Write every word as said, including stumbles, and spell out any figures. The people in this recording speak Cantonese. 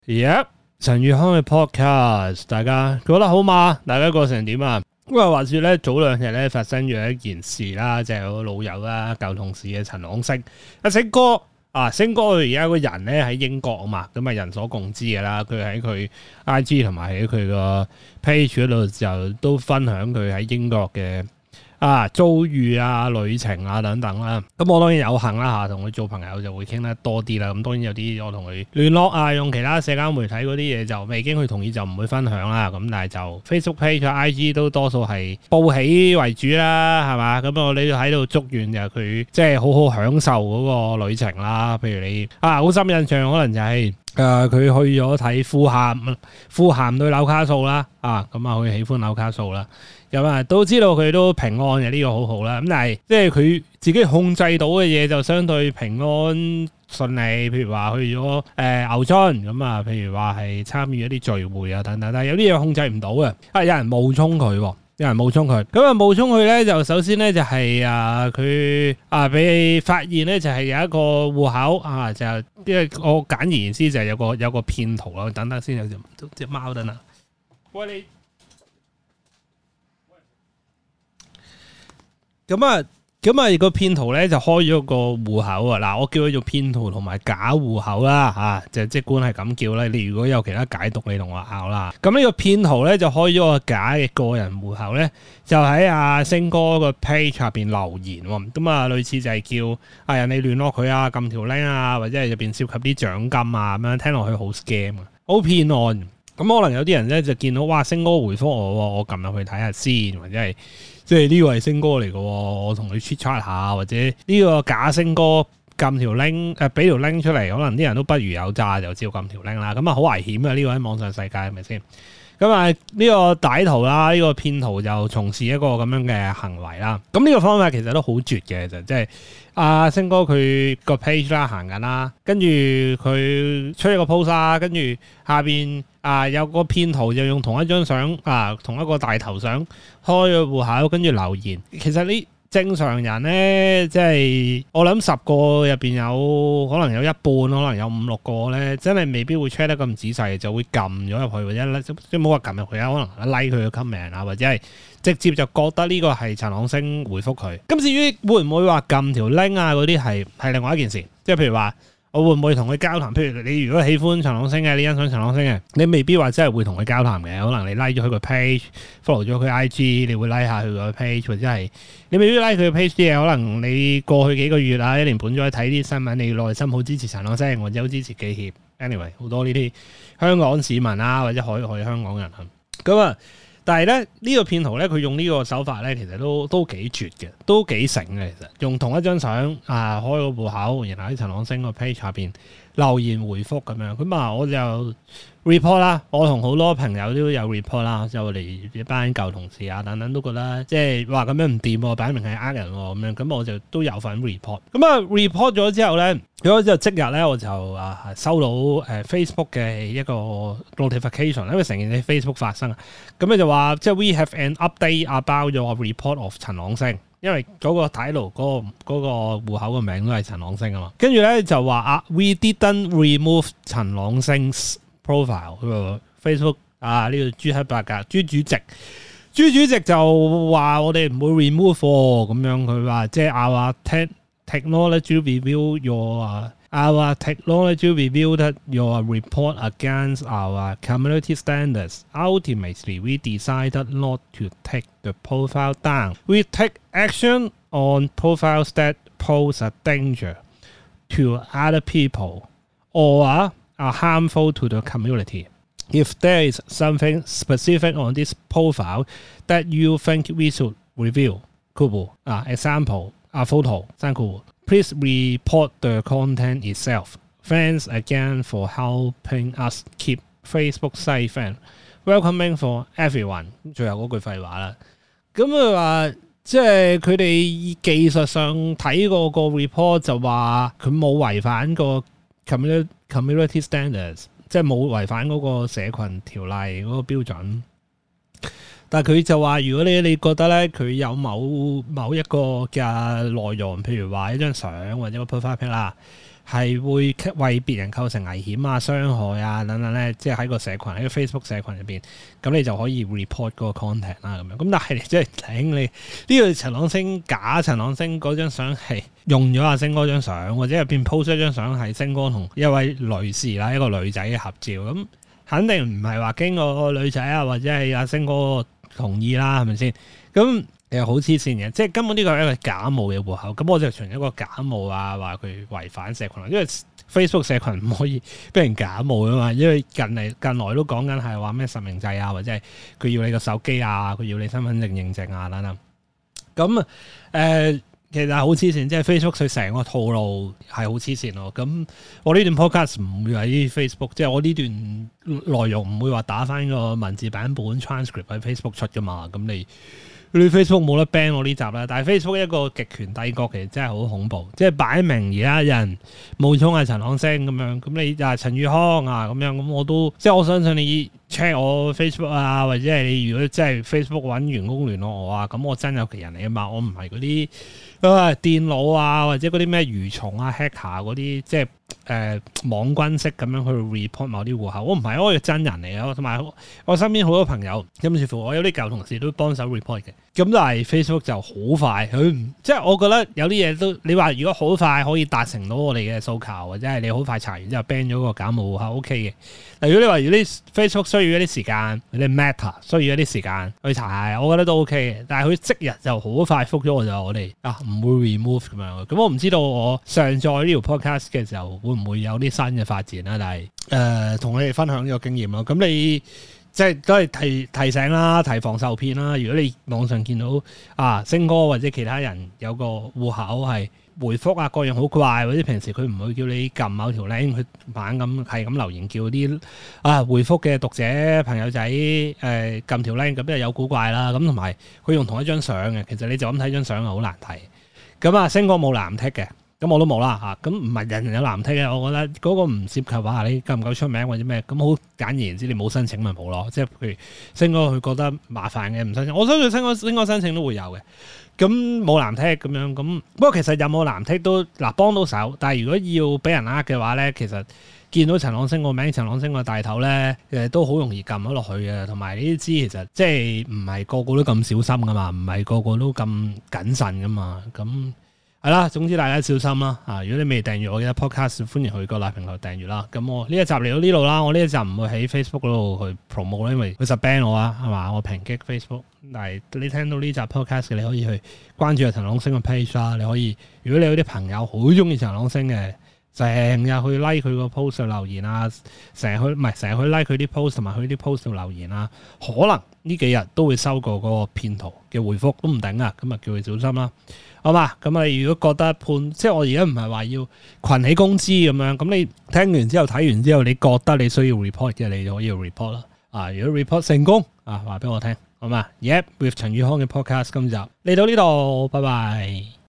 而家陳宇康嘅 podcast，大家覺得好嘛？大家過成點啊？咁啊，話說咧，早兩日咧發生咗一件事啦，就係、是、我老友啦，舊同事嘅陳朗昇，阿星哥啊，星哥佢而家個人咧喺英國啊嘛，咁啊人所共知嘅啦，佢喺佢 I G 同埋喺佢個 page 嗰度就都分享佢喺英國嘅啊遭遇啊、旅程啊等等啦，咁我當然有幸啦嚇，同佢做朋友就會傾得多啲啦。咁當然有啲我同佢聯絡啊，用其他社交媒體嗰啲嘢就未經佢同意就唔會分享啦。咁但係就 Facebook page、I G 都多數係報喜為主啦，係嘛？咁我哋喺度祝願就佢即係好好享受嗰個旅程啦。譬如你啊，好深印象可能就係、是、誒佢、呃、去咗睇富咸，富咸對紐卡素啦，啊咁啊佢喜歡紐卡素啦。咁啊，都知道佢都平安嘅，呢個好好啦。咁但係即係佢自己控制到嘅嘢就相對平安順利。譬如話去咗誒、呃、牛津咁啊，譬如話係參與一啲聚會啊等等。但係有啲嘢控制唔到嘅，啊有人冒充佢，有人冒充佢。咁啊冒充佢咧，就首先咧就係啊佢啊俾發現咧就係有一個戶口啊，就因為我簡而言之就係有個有個騙徒咯。等等先，有隻隻貓等等。喂你。咁啊，咁啊個騙徒咧就開咗個戶口啊！嗱，我叫佢做騙徒同埋假戶口啦，吓、啊、就即管係咁叫啦。你如果有其他解讀，你同我拗啦。咁呢個騙徒咧就開咗個假嘅個人戶口咧，就喺阿星哥個 page 下邊留言喎。咁啊，類似就係叫啊人哋聯絡佢啊，撳條 link 啊，或者係入邊涉及啲獎金啊，咁樣聽落去好 scam 啊，好騙案。咁可能有啲人咧就見到哇，星哥回覆我，我撳入去睇下先，或者係。即係呢個係星哥嚟嘅，我同佢 chat chat 下，或者呢個假星哥撳條 link，誒俾條 link 出嚟，可能啲人都不如有詐，就照撳條 link 啦。咁啊好危險啊！呢個喺網上世界係咪先？咁啊呢個歹徒啦，呢、這個騙徒就從事一個咁樣嘅行為啦。咁呢個方法其實都好絕嘅，就即係阿星哥佢個 page 啦行緊啦，跟住佢出一個 post 啦，跟住下邊啊有個騙徒就用同一張相啊，同一個大頭相開咗戶口，跟住留言。其實呢正常人咧，即係我諗十個入邊有可能有一半，可能有五六個咧，真係未必會 check 得咁仔細，就會撳咗入去，或者即係冇話撳入去啊，可能 like 佢嘅 comment 啊，或者係直接就覺得呢個係陳朗昇回覆佢。咁至於會唔會話撳條 link 啊嗰啲係係另外一件事，即係譬如話。我會唔會同佢交談？譬如你如果喜歡陳朗昇嘅，你欣賞陳朗昇嘅，你未必話真係會同佢交談嘅。可能你 like 咗佢個 page，follow 咗佢 I G， 你會 like 下佢個 page，或者係你未必 like 佢嘅 page 啲嘢。可能你過去幾個月啊，一年半載睇啲新聞，你內心好支持陳朗昇，或者好支持記協。anyway， 好多呢啲香港市民啊，或者海外香港人啊，咁啊。但係咧呢、呢個騙徒咧，佢用呢個手法咧，其實都都幾絕嘅，都幾醒嘅。其實用同一張相啊，開個戶口，然後喺陳朗昇個 page 下邊留言回覆咁樣。咁啊，我就 report 啦，我同好多朋友都有 report 啦，就我哋一班舊同事啊等等都覺得即係話咁樣唔掂喎，擺明係呃人喎咁樣。咁我就都有份 report。咁啊 report 咗之後咧。咁之後即日咧，我就啊收到誒 Facebook 嘅一個 notification，因為成件事 Facebook 發生，咁咧就話即係 we have an update about your report of 陳朗昇，因為嗰個睇路嗰個嗰個戶口嘅名都係陳朗昇啊嘛，跟住咧就話啊 we didn't remove 陳朗昇 profile， 佢話 Facebook 啊呢個朱克伯格朱主席，朱主席就話我哋唔會 remove 咁樣，佢話即係啊聽。Technology review your uh, our technology reviewed your report against our community standards. Ultimately, we decided not to take the profile down. We take action on profiles that pose a danger to other people or are harmful to the community. If there is something specific on this profile that you think we should review, cool. Uh, example. A photo, thank you. Please report the content itself. Thanks again for helping us keep Facebook safe and welcoming for everyone. 最後嗰句廢話啦。咁佢話，即係佢哋技術上睇過個 report 就話佢冇違反個 community community standards， 即係冇違反嗰個社群條例嗰個標準。但係佢就話，如果你你覺得咧，佢有某某一個嘅內容，譬如話一張相或者個 profile pic 啦， 係會為別人構成危險啊、傷害啊等等咧，即係喺個社群喺個 Facebook 社群入邊，咁你就可以 report 嗰個 content 啦咁樣。咁但係你即係頂你呢個陳朗昇假陳朗昇嗰張相係用咗阿星哥張相，或者入邊 post 一張相係星哥同一位女士啦，一個女仔嘅合照，咁肯定唔係話經過個女仔啊或者係阿星哥同意啦，係咪先？咁其實好黐線嘅，即係根本呢個係一個假冒嘅戶口，咁我就從一個假冒啊，話佢違反社群，因為 Facebook 社群唔可以俾人假冒啊嘛，因為近嚟近來都講緊係話咩實名制啊，或者係佢要你個手機啊，佢要你身份證認證啊等等。咁誒、呃，其實係好黐線，即係 Facebook 佢成個套路係好黐線咯。咁我呢段 podcast 唔會喺 Facebook，即係我呢段內容唔會話打翻個文字版本 transcript 喺 Facebook 出噶嘛，咁你。你 Facebook 冇得 ban 我呢集啦，但係 Facebook 一個極權帝國其實真係好恐怖，即係擺明而家人冒充係陳朗昇咁樣，咁你啊陳宇康啊咁樣，咁我都即係我相信你 check 我 Facebook 啊，或者係你如果真係 Facebook 揾員工聯絡我啊，咁我真有其人嚟啊嘛，我唔係嗰啲啊電腦啊或者嗰啲咩蠕蟲啊 hacker 嗰啲即係。誒、呃、網軍式咁樣去 report 某啲戶口，我唔係我係真人嚟嘅，同埋我身邊好多朋友，甚至乎我有啲舊同事都幫手 report 嘅。咁但係 Facebook 就好快，佢即係我覺得有啲嘢都你話如果好快可以達成到我哋嘅訴求，或者係你好快查完之後 ban 咗個假冒戶口 OK 嘅。但如果你話如果啲 Facebook 需要一啲時間，你 Meta 需要一啲時間去查，我覺得都 OK 嘅。但係佢即日就好快覆咗我就我哋啊唔會 remove 咁樣。咁我唔知道我上載呢條 podcast 嘅時候會唔會有啲新嘅發展啦？但係誒同你哋分享呢個經驗咯。咁你即係都係提提醒啦，提防受騙啦。如果你網上見到啊星哥或者其他人有個戶口係回覆啊各樣好怪，或者平時佢唔會叫你撳某條 link 去猛咁係咁留言叫啲啊回覆嘅讀者朋友仔誒撳條 link，咁就有古怪啦。咁同埋佢用同一張相嘅，其實你就咁睇張相係好難睇。咁啊星哥冇藍剔嘅。咁我都冇啦嚇，咁唔係人人有藍剔嘅，我覺得嗰個唔涉及話你夠唔夠出名或者咩，咁好簡而言之，你冇申請咪冇咯，即係譬如星哥佢覺得麻煩嘅唔申請，我相信星哥星哥申請都會有嘅，咁冇藍剔咁樣，咁不過其實有冇藍剔都嗱幫到手，但係如果要俾人呃嘅話咧，其實見到陳朗昇個名、陳朗昇個大頭咧，誒都好容易撳咗落去嘅，同埋呢啲知其實即係唔係個個都咁小心噶嘛，唔係個個都咁謹慎噶嘛，咁。係啦，總之大家小心啦啊！如果你未訂閱我嘅 podcast，歡迎去各大平台訂閱啦。咁我呢一集嚟到呢度啦，我呢一集唔會喺 Facebook 嗰度去 promote 啦，因為佢實 ban 我啊，係嘛？我抨擊 Facebook。但係你聽到呢集 podcast 嘅，你可以去關注阿陳朗昇嘅 page 啦。你可以，如果你有啲朋友好中意陳朗昇嘅，成日去 like 佢個 post 去留言啊，成日去唔係成日去 like 佢啲 post 同埋佢啲 post 度留言啊，可能呢幾日都會收過嗰個騙徒嘅回覆，都唔定啊。咁啊，叫佢小心啦。好嘛，咁啊，如果覺得判，即係我而家唔係話要群起公資咁樣，咁你聽完之後睇完之後，你覺得你需要 report 嘅，你就可以 report 啦。啊，如果 report 成功，啊，話俾我聽，好嘛？Yep，with 陳宇康嘅 podcast 今集嚟到呢度，拜拜。